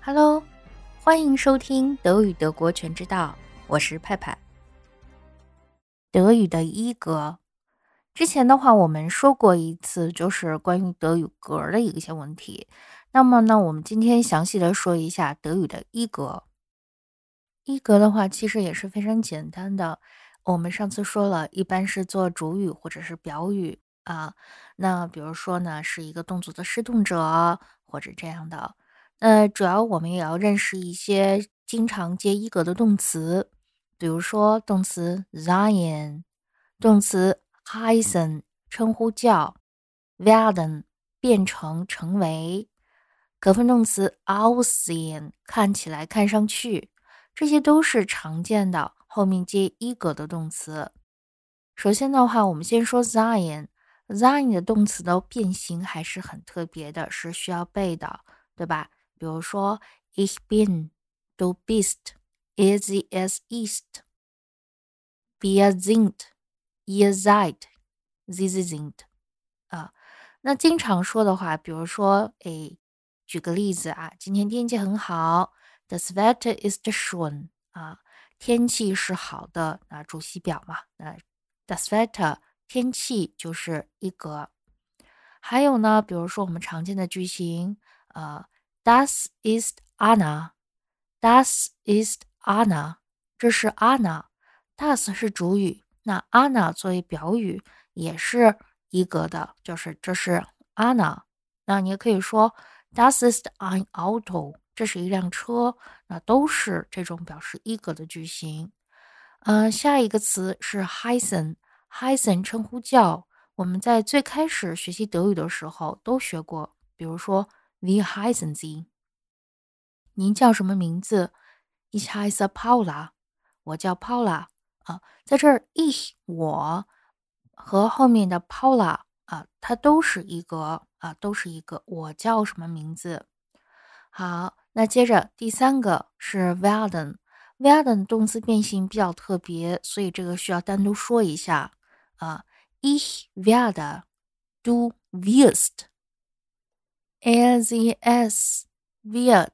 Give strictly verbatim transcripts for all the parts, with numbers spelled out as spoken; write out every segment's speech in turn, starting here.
Hello，欢迎收听德语德国全知道，我是派派。德语的一格，之前的话我们说过一次，就是关于德语格的一些问题。那么呢，我们今天详细的说一下德语的一格。一格的话，其实也是非常简单的。我们上次说了，一般是做主语或者是表语啊。那比如说呢，是一个动作的施动者或者这样的。呃，主要我们也要认识一些经常接一格的动词，比如说动词 sein，动词 heißen，称呼叫 werden，变成成为，可分动词 aussehen，看起来看上去，这些都是常见的后面接一格的动词。首先的话，我们先说 sein，sein 的动词的变形还是很特别的，是需要背的，对吧？比如说 ich bin， du bist， er sie es ist， wir sind， ihr seid， sie sie sind 啊。那经常说的话，比如说诶，举个例子啊，今天天气很好， das Wetter ist schön 啊，天气是好的，那主系表嘛，那 das Wetter 天气就是一格。还有呢，比如说我们常见的句型，呃 Das ist Anna， Das ist Anna， 这是 Anna，Das 是主语，那 Anna 作为表语也是一格的，就是这是 Anna。那你也可以说 Das ist ein Auto， 这是一辆车，那都是这种表示一格的句型。呃，下一个词是 heißen，heißen 称呼叫，我们在最开始学习德语的时候都学过，比如说 Wie heißen Sie？ 您叫什么名字？ Ich heiße Paula， 我叫 Paula 啊，在这儿 ich 我和后面的 Paula 啊，它都是一个啊，都是一个我叫什么名字。好，那接着第三个是 werden。werden 动词变形比较特别，所以这个需要单独说一下啊。Ich werde， du wirst， er sie es wird，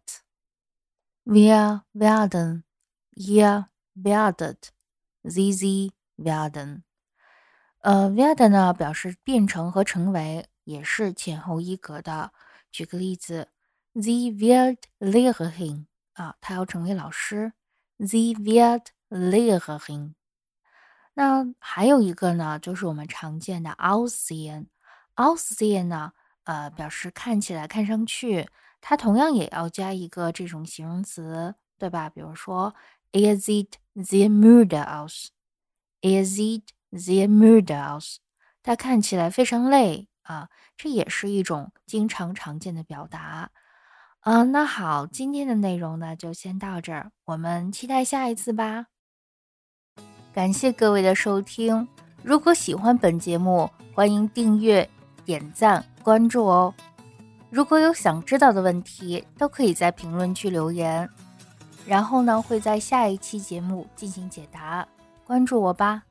wir werden， ihr werdet， sie sie werden。呃 werden 呢表示变成和成为，也是前后一格的。举个例子 Sie wird Lehrerin 啊，她要成为老师。Sie wird Lehrerin。那还有一个呢，就是我们常见的 aussehen。aussehen 呢，呃，表示看起来、看上去，它同样也要加一个这种形容词，对吧？比如说 Er sieht sehr müde aus。Er sieht sehr müde aus。它看起来非常累啊，这也是一种经常常见的表达。啊，那好，今天的内容呢就先到这儿，我们期待下一次吧。感谢各位的收听，如果喜欢本节目，欢迎订阅、点赞、关注哦。如果有想知道的问题，都可以在评论区留言，然后呢会在下一期节目进行解答，关注我吧。